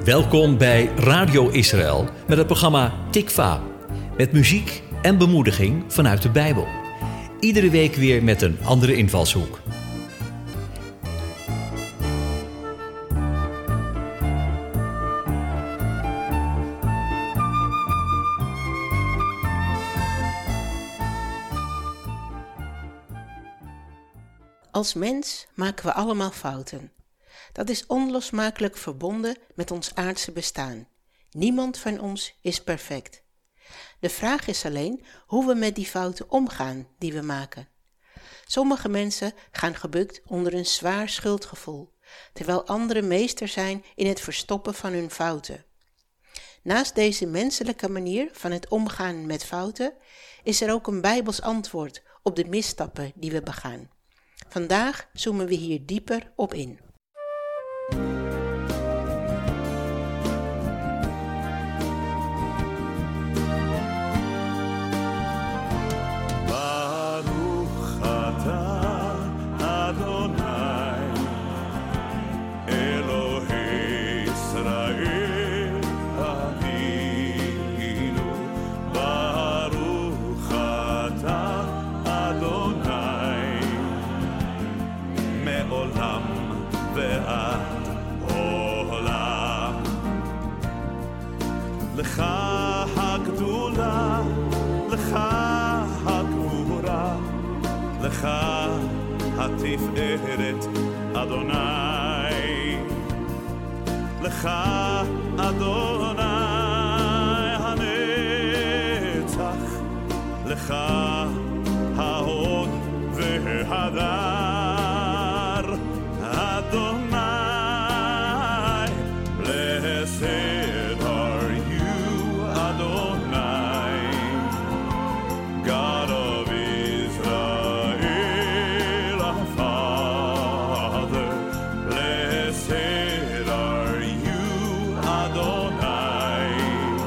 Welkom bij Radio Israël met het programma Tikva. Met muziek en bemoediging vanuit de Bijbel. Iedere week weer met een andere invalshoek. Als mens maken we allemaal fouten. Dat is onlosmakelijk verbonden met ons aardse bestaan. Niemand van ons is perfect. De vraag is alleen hoe we met die fouten omgaan die we maken. Sommige mensen gaan gebukt onder een zwaar schuldgevoel, terwijl anderen meester zijn in het verstoppen van hun fouten. Naast deze menselijke manier van het omgaan met fouten, is er ook een Bijbels antwoord op de misstappen die we begaan. Vandaag zoomen we hier dieper op in. לך הגדולה, לך הגבורה, לך התפארת, אדוני. לך אדוני הנצח, לך ההוד וההדר, אדוני. Blessed are you, Adonai, God of Israel, our Father. Blessed are you, Adonai,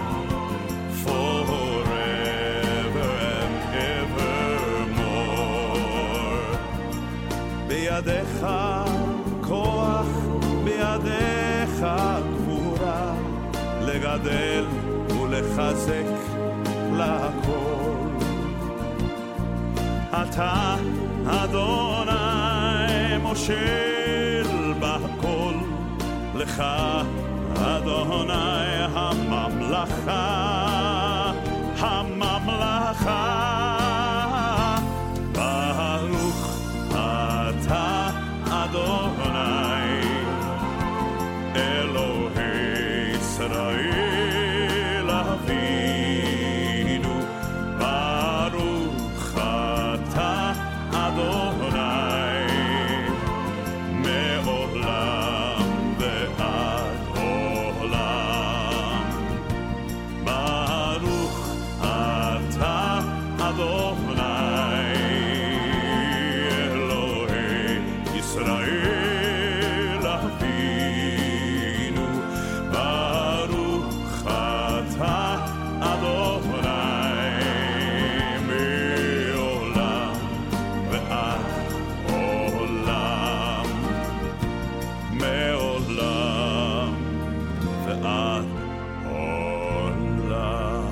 forever and evermore. בידיך כוח, בידיך גבורה, לגדל ולחזק לכל. אתה אדוני מושל בכל, לך אדוני הממלכה, הממלכה. ברוך אתה אדוני אלוהי ישראל אבינו. ברוך אתה אדוני מעולם ועד עולם. ברוך אתה אדוני אלוהי ישראל אבינו. ברוך אתה אדוני מעולם ועד עולם. מעולם ועד עולם.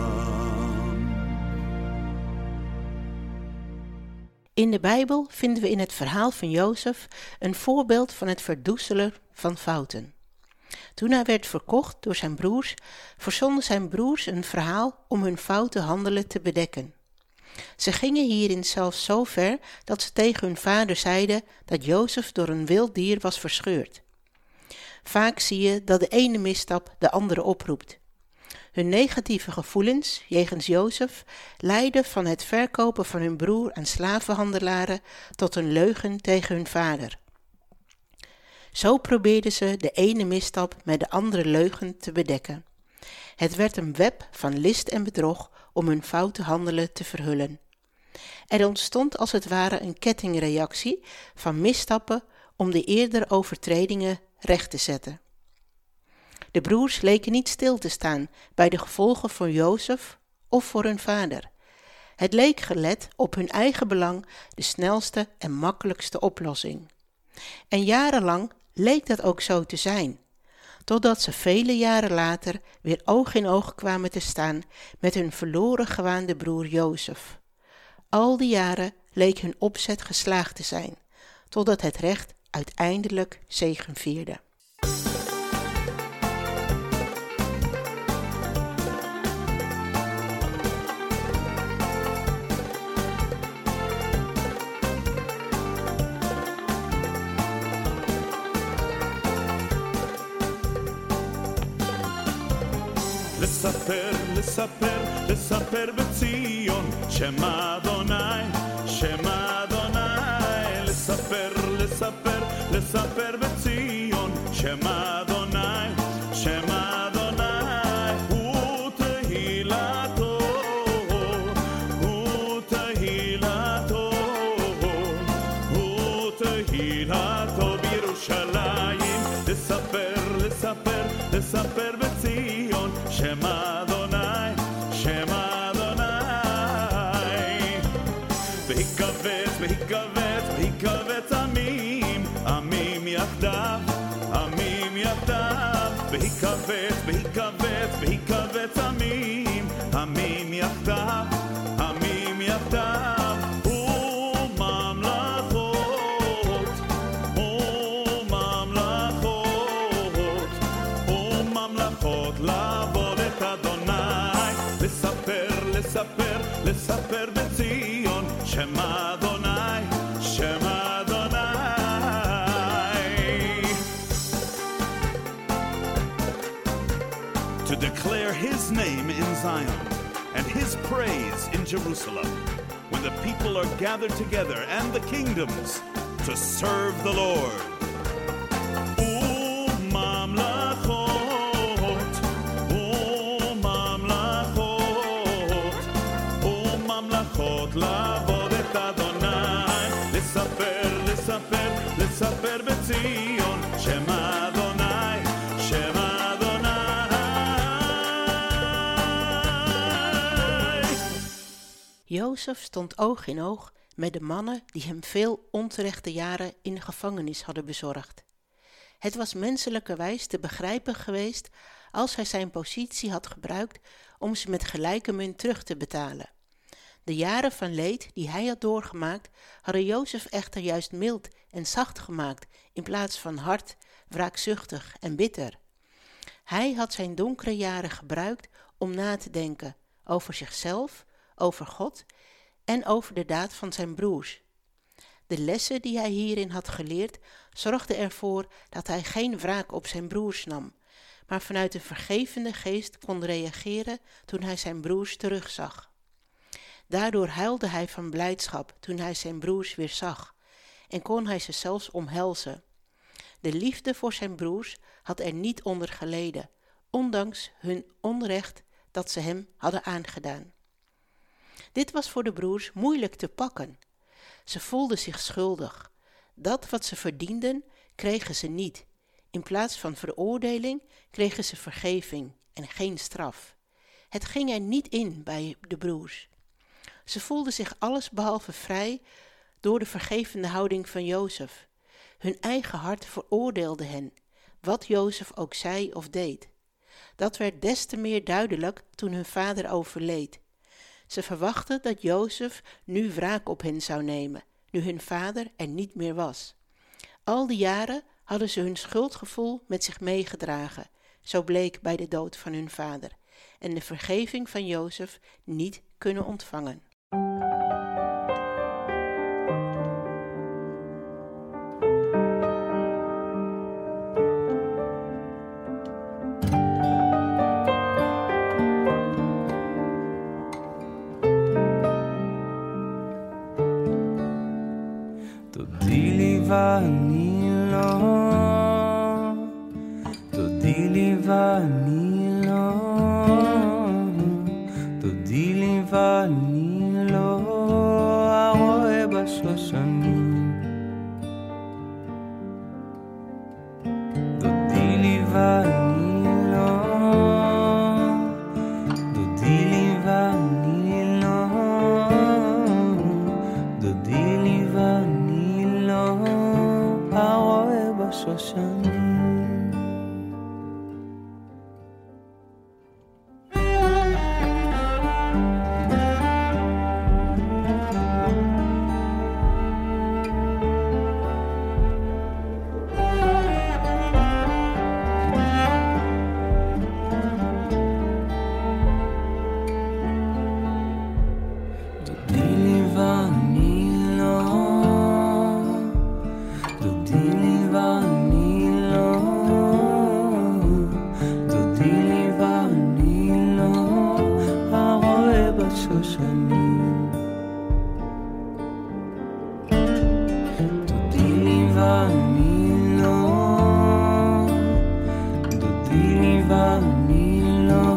In de Bijbel vinden we in het verhaal van Jozef een voorbeeld van het verdoezelen van fouten. Toen hij werd verkocht door zijn broers, verzonnen zijn broers een verhaal om hun foute handelen te bedekken. Ze gingen hierin zelfs zo ver dat ze tegen hun vader zeiden dat Jozef door een wild dier was verscheurd. Vaak zie je dat de ene misstap de andere oproept. Hun negatieve gevoelens jegens Jozef leidden van het verkopen van hun broer aan slavenhandelaren tot een leugen tegen hun vader. Zo probeerden ze de ene misstap met de andere leugen te bedekken. Het werd een web van list en bedrog om hun foute handelen te verhullen. Er ontstond als het ware een kettingreactie van misstappen om de eerdere overtredingen recht te zetten. De broers leken niet stil te staan bij de gevolgen voor Jozef of voor hun vader. Het leek gelet op hun eigen belang de snelste en makkelijkste oplossing. En jarenlang leek dat ook zo te zijn, totdat ze vele jaren later weer oog in oog kwamen te staan met hun verloren gewaande broer Jozef. Al die jaren leek hun opzet geslaagd te zijn, totdat het recht uiteindelijk zegevierde. לספר, לספר, לספר בציון, שמה אדוני, שמה אדוני. לספר, לספר, לספר בציון, שמה אדוני, שמה אדוני. הוא תהילתו, הוא תהילתו, הוא תהילתו בירושלים. לספר, לספר, לספר בציון, שמה אדוני, שמה אדוני. והיכבץ, והיכבץ, והיכבץ עמים, עמים יחדיו, עמים יחדיו. והיכבץ, והיכבץ, והיכבץ עמים, עמים יחדיו, עמים יחדיו. וממלכות, וממלכות, וממלכות לעבוד את אדוני. לספר, לספר, לספר בציון, שמה אדוני, שמה אדוני. To declare his name in Zion and his praise in Jerusalem, when the people are gathered together and the kingdoms to serve the Lord. וממלכות, וממלכות, וממלכות לעבוד את אדוני. לספר, לספר, לספר בציון, שמה אדוני, שמה אדוני. Jozef stond oog in oog met de mannen die hem veel onterechte jaren in de gevangenis hadden bezorgd. Het was menselijkerwijs te begrijpen geweest als hij zijn positie had gebruikt om ze met gelijke munt terug te betalen. De jaren van leed die hij had doorgemaakt, hadden Jozef echter juist mild en zacht gemaakt in plaats van hard, wraakzuchtig en bitter. Hij had zijn donkere jaren gebruikt om na te denken over zichzelf, over God en over de daad van zijn broers. De lessen die hij hierin had geleerd zorgden ervoor dat hij geen wraak op zijn broers nam, maar vanuit een vergevende geest kon reageren toen hij zijn broers terugzag. Daardoor huilde hij van blijdschap toen hij zijn broers weer zag en kon hij ze zelfs omhelzen. De liefde voor zijn broers had er niet onder geleden, ondanks hun onrecht dat ze hem hadden aangedaan. Dit was voor de broers moeilijk te pakken. Ze voelden zich schuldig. Dat wat ze verdienden, kregen ze niet. In plaats van veroordeling kregen ze vergeving en geen straf. Het ging er niet in bij de broers. Ze voelden zich allesbehalve vrij door de vergevende houding van Jozef. Hun eigen hart veroordeelde hen, wat Jozef ook zei of deed. Dat werd des te meer duidelijk toen hun vader overleed. Ze verwachten dat Jozef nu wraak op hen zou nemen, nu hun vader er niet meer was. Al die jaren hadden ze hun schuldgevoel met zich meegedragen, zo bleek bij de dood van hun vader, en de vergeving van Jozef niet kunnen ontvangen. ואני לא, תודי לי ואני לא, תודי לי ואני לא, הרואה בשושנים. תודי לי ואני לא, תודי לי ואני לא, תודי לי ואני לא, הרואה בשושנים. דודי לי ואני לא,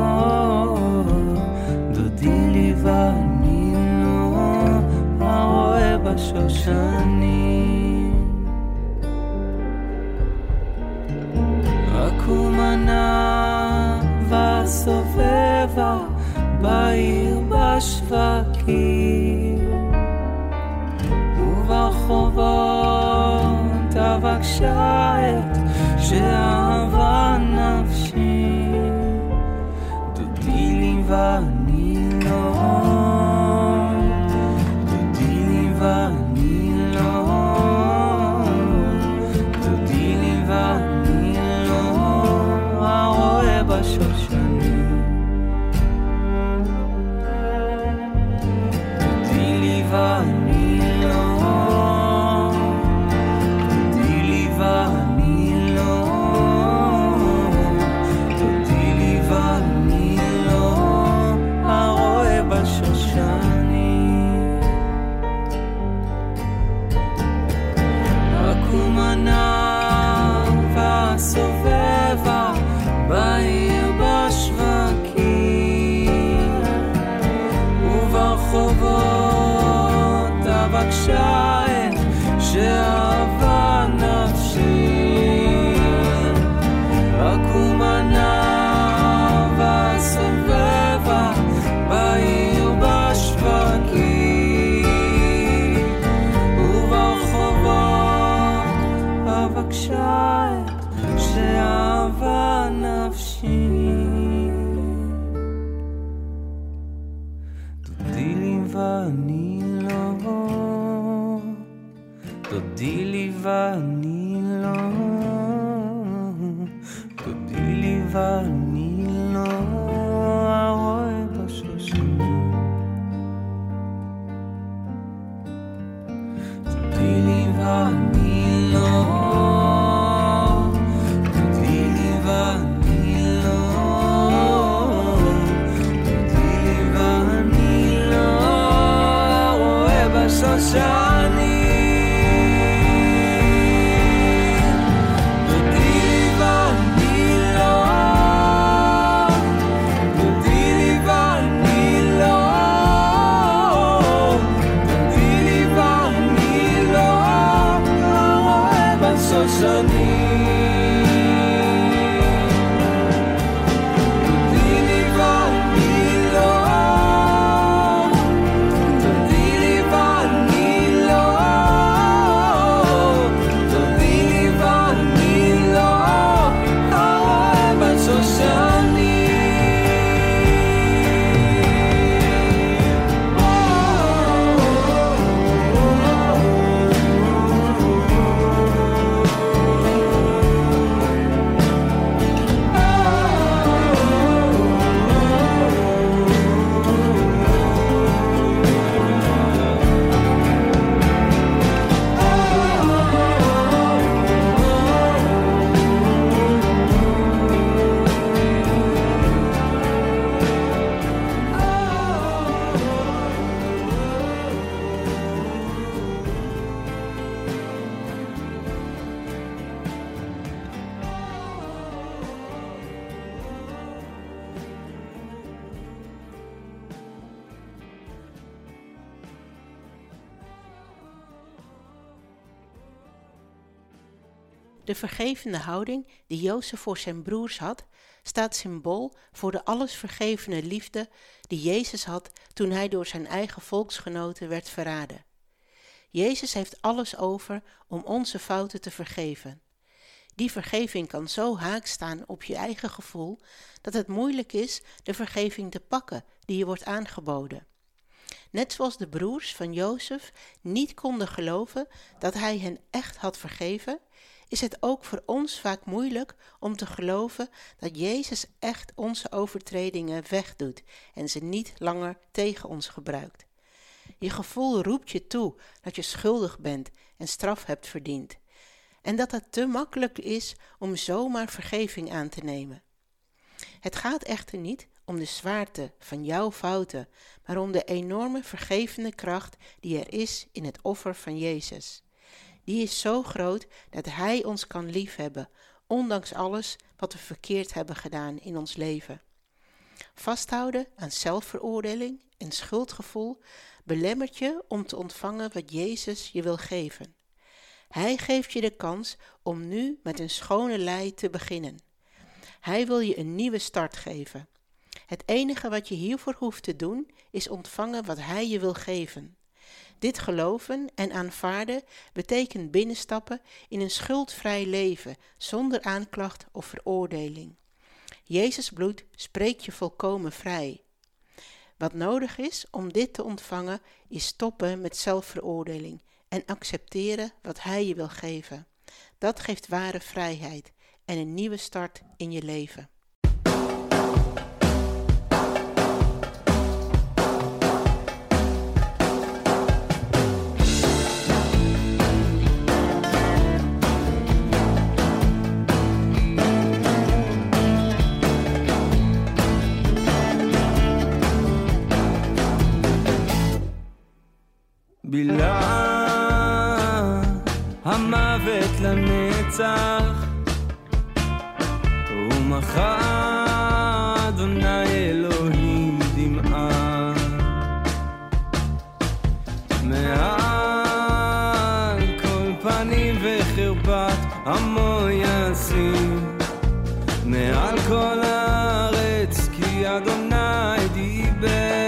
דודי לי ואני לא, הרואה בשושנים. הקומנה והסובבה בעיר בשווקים וברחובות אבקשה את שאהבה נפשי. דודי לי ואני לא, דודי לי ואני לא, דודי לי ואני לא, הרואה בשושנים. דודי לי ואני לא, דודי לי ואני לא, דודי לי ואני לא, הרואה בשושנים. הקומנה והסובבה בעיר בשווקים וברחובות אבקשה את שאהבה נפשי. הקומנה והסובבה בעיר בשווקים וברחובות אבקשה את שאהבה נפשי. דודי לי ואני לא, דודי לי ואני לא, דודי לי ואני לא, הרואה בשושנים. דודי לי ואני לא, דודי לי ואני לא, דודי לי ואני לא, הרואה בשושנים. דודי לי ואני לא, דודי לי ואני לא, דודי לי ואני לא, הרואה בשושנים. דודי לי ואני לא, דודי לי ואני לא, דודי לי ואני לא, הרואה בשושנים. De vergevende houding die Jozef voor zijn broers had, staat symbool voor de allesvergevende liefde die Jezus had toen hij door zijn eigen volksgenoten werd verraden. Jezus heeft alles over om onze fouten te vergeven. Die vergeving kan zo haaks staan op je eigen gevoel dat het moeilijk is de vergeving te pakken die je wordt aangeboden. Net zoals de broers van Jozef niet konden geloven dat hij hen echt had vergeven, is het ook voor ons vaak moeilijk om te geloven dat Jezus echt onze overtredingen wegdoet en ze niet langer tegen ons gebruikt. Je gevoel roept je toe dat je schuldig bent en straf hebt verdiend. En dat het te makkelijk is om zomaar vergeving aan te nemen. Het gaat echter niet om de zwaarte van jouw fouten, maar om de enorme vergevende kracht die er is in het offer van Jezus. Die is zo groot dat Hij ons kan liefhebben, ondanks alles wat we verkeerd hebben gedaan in ons leven. Vasthouden aan zelfveroordeling en schuldgevoel belemmert je om te ontvangen wat Jezus je wil geven. Hij geeft je de kans om nu met een schone lei te beginnen. Hij wil je een nieuwe start geven. Het enige wat je hiervoor hoeft te doen is ontvangen wat Hij je wil geven. Dit geloven en aanvaarden betekent binnenstappen in een schuldvrij leven zonder aanklacht of veroordeling. Jezus' bloed spreekt je volkomen vrij. Wat nodig is om dit te ontvangen is stoppen met zelfveroordeling en accepteren wat Hij je wil geven. Dat geeft ware vrijheid en een nieuwe start in je leven. בילה המוות לנצח ומחה אדוני אלוהים דמעה מעל כל פנים וחרפת עמו ישים מעל כל הארץ כי אדוני דיבר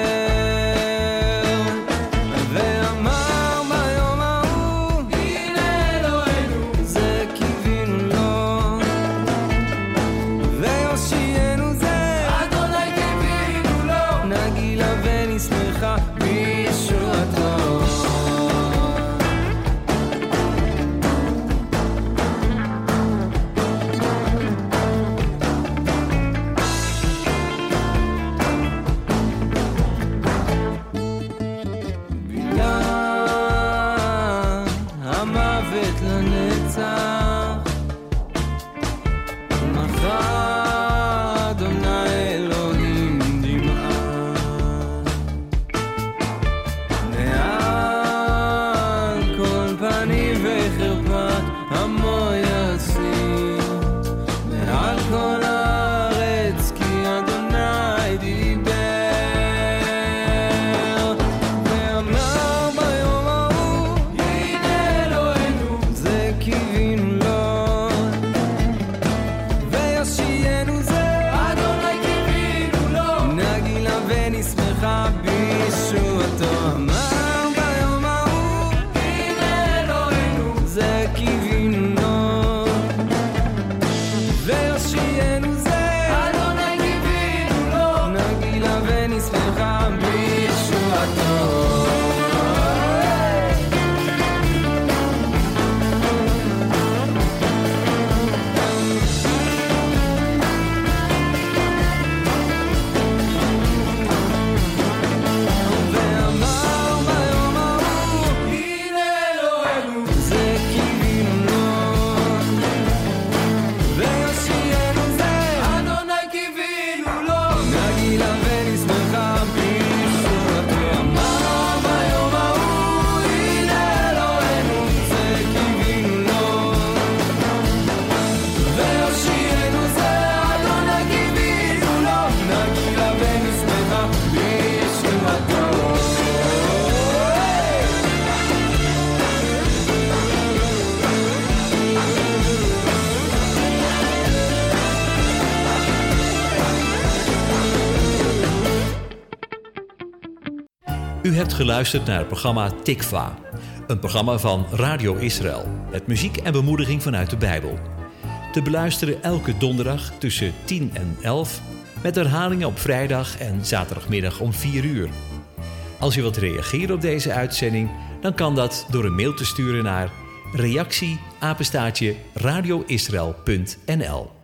U hebt geluisterd naar het programma Tikva, een programma van Radio Israël met muziek en bemoediging vanuit de Bijbel. Te beluisteren elke donderdag tussen 10 en 11, met herhalingen op vrijdag en zaterdagmiddag om 4 uur. Als u wilt reageren op deze uitzending, dan kan dat door een mail te sturen naar reactie@radioisrael.nl.